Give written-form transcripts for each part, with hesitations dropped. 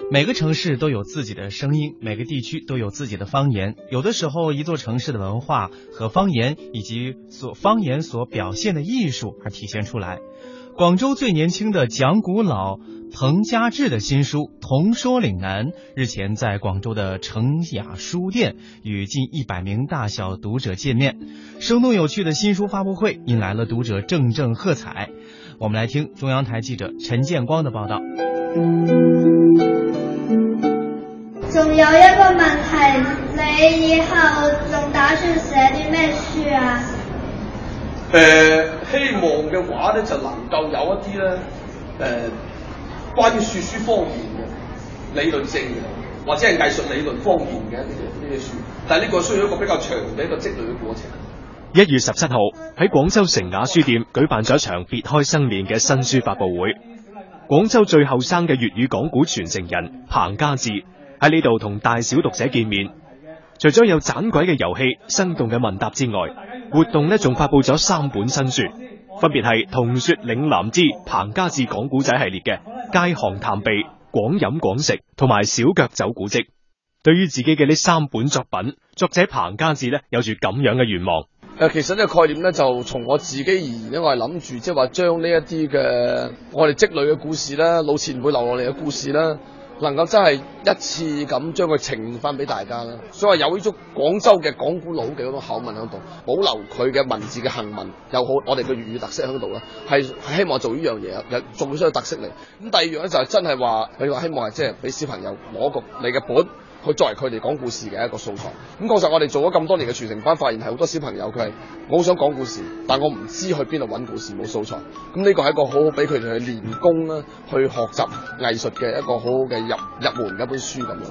每个城市都有自己的声音，每个地区都有自己的方言。有的时候，一座城市的文化和方言以及方言所表现的艺术而体现出来。广州最年轻的讲古佬彭家志的新书《童说岭南》日前在广州的成雅书店与近100名大小读者见面，生动有趣的新书发布会引来了读者阵阵喝彩。我们来听中央台记者陈建光的报道。 仲有一個問題，你以後仲打算寫啲咩書啊？ 希望嘅話咧就能夠有一啲咧關於說書方面嘅理論性嘅，或者係藝術理論方面嘅呢啲書，但係呢個需要一個比較長嘅一個積累嘅過程。 1月17號喺廣州成雅書店舉辦咗一場別開生面嘅新書發佈會。廣州最後生嘅粵語講古傳承人彭家志喺呢度同大小讀者見面。除咗有盞鬼嘅遊戲、生動嘅問答之外，活動呢仲發佈咗3本新書，分別係《童說嶺南之彭家志講古仔》系列嘅《街巷探秘》、《廣飲廣食》同埋《小腳走古蹟》。對於自己嘅呢3本作品，作者彭家志呢有住咁樣嘅願望。 其實呢個概念呢，就從我自己而言呢，我係諗住即係話將呢一啲嘅我哋積累嘅故事啦、老前輩留落嚟嘅故事啦，能夠真係一次咁將佢呈現翻俾大家啦。所以話有呢種廣州嘅講古佬嘅嗰種口吻喺度，保留佢嘅文字嘅行文，又好我哋嘅粵語特色喺度啦，係希望做呢樣嘢，做出個特色嚟。咁第二樣咧就係真係話，你話希望係即係俾小朋友攞個你嘅本。去作為佢哋講故事嘅一個素材。咁確實我哋做咗咁多年嘅傳承班，發現係好多小朋友佢係我好想講故事，但我唔知去邊度揾故事，冇素材。咁呢個係一個好好俾佢哋去練功啦，去學習藝術嘅一個好好嘅入門嘅一本書咁樣。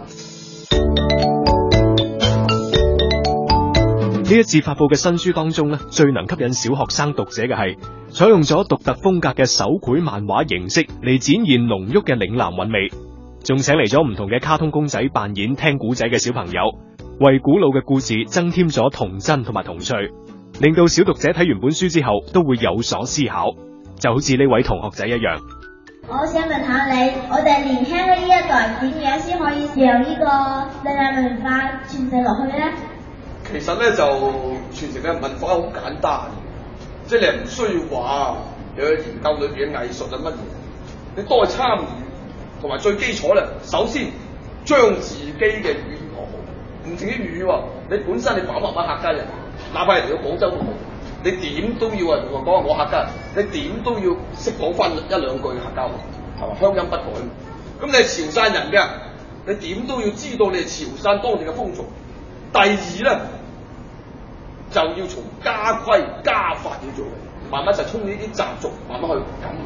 呢一次發佈嘅新書當中呢，最能吸引小學生讀者嘅係採用咗獨特風格嘅手繪漫畫形式嚟展現濃郁嘅嶺南韻味。仲請嚟咗唔同嘅卡通公仔扮演聽古仔嘅小朋友，為古老嘅故事增添咗童真同埋童趣，令到小讀者睇完本書之後都會有所思考。就好似呢位同學仔一樣。 我想問下你，我哋年輕嘅呢一代點樣先可以讓呢個嶺南文化傳承落去呢？ 其實咧就傳承嘅文化好簡單，即係你唔需要話有研究裏邊嘅藝術啊乜嘢，你多去參與。同埋最基礎咧，首先將自己嘅語言學好，唔淨啲粵語喎，你本身你爸爸媽媽客家人，哪怕係嚟到廣州都好，你點都要同我講我客家人，你點都要識講翻1-2句嘅客家話，係嘛，鄉音不改。咁你係潮汕人嘅，你點都要知道你係潮汕當地嘅風俗。第二咧，就要從家規家法要做，慢慢就衝呢啲習俗，慢慢去感悟。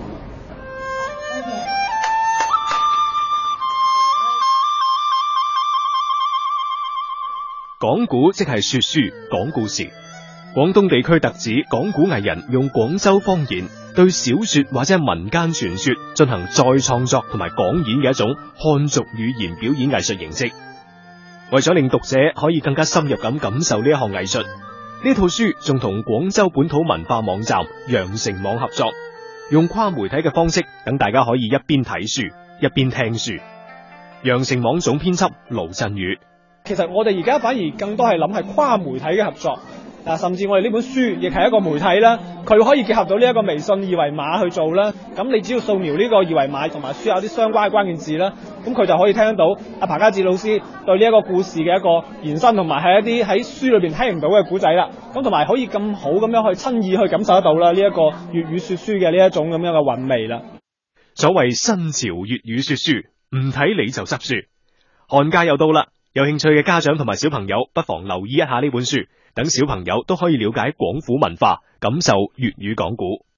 講古即係說書講故事。廣東地區特指講古藝人用廣州方言對小說或者民間傳說進行再創作同埋講演嘅一種漢族語言表演藝術形式。為咗令讀者可以更加深入咁感受呢一項藝術，呢套書仲同廣州本土文化網站羊城網合作，用跨媒體嘅方式等大家可以一邊睇書一邊聽書。羊城網總編輯盧振宇。 其實我哋而家反而更多係諗係跨媒體嘅合作，甚至我哋呢本書亦係一個媒體啦，佢可以結合到呢一個微信二維碼去做啦。咁你只要掃描呢個二維碼同埋輸入啲相關嘅關鍵字啦，咁佢就可以聽得到阿彭家志老師對呢一個故事嘅一個延伸，同埋係一啲喺書裏邊聽唔到嘅古仔啦。咁同埋可以咁好咁樣去親耳去感受得到啦呢一個粵語說書嘅呢一種咁樣嘅韻味啦。 所謂新潮粵語說書，唔睇你就執書。寒假又到啦。有興趣嘅家長同埋小朋友不妨留意一下呢本書，等小朋友都可以了解廣府文化，感受粵語講古。